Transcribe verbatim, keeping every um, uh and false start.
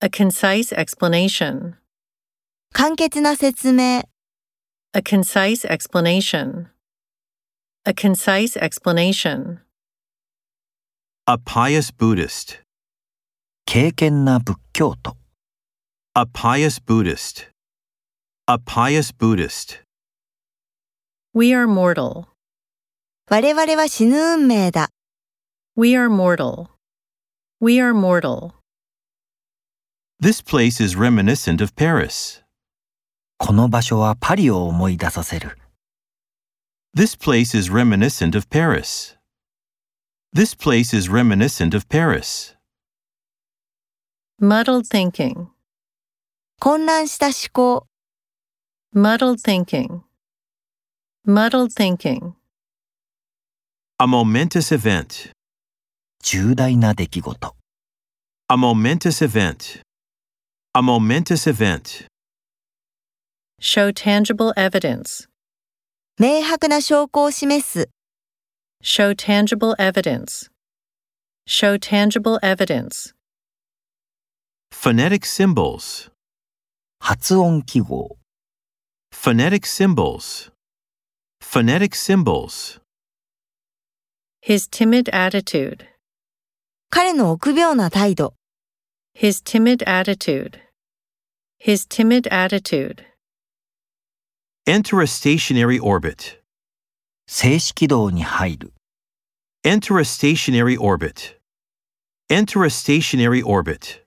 A concise explanation. 簡潔な説明。 A concise explanation. A concise explanation. A pious Buddhist. 敬虔な仏教徒。 A pious Buddhist. A pious Buddhist. We are mortal. 我々は死ぬ運命だ。 We are mortal. We are mortal. This place is reminiscent of Paris. この場所はパリを思い出させる。 This place is reminiscent of Paris. This place is reminiscent of Paris. Muddled thinking. 混乱した思考。 Muddled thinking. Muddled thinking. A momentous event. 重大な出来事。 A momentous event. A momentous event. Show tangible evidence. 明白な証拠を示す。 Show tangible evidence. Show tangible evidence. Phonetic symbols. 発音記号。 Phonetic symbols. Phonetic symbols. His timid attitude. 彼の臆病な態度。 His timid attitude. His timid attitude. Enter a stationary orbit. 静止軌道に入る。 Enter a stationary orbit. Enter a stationary orbit.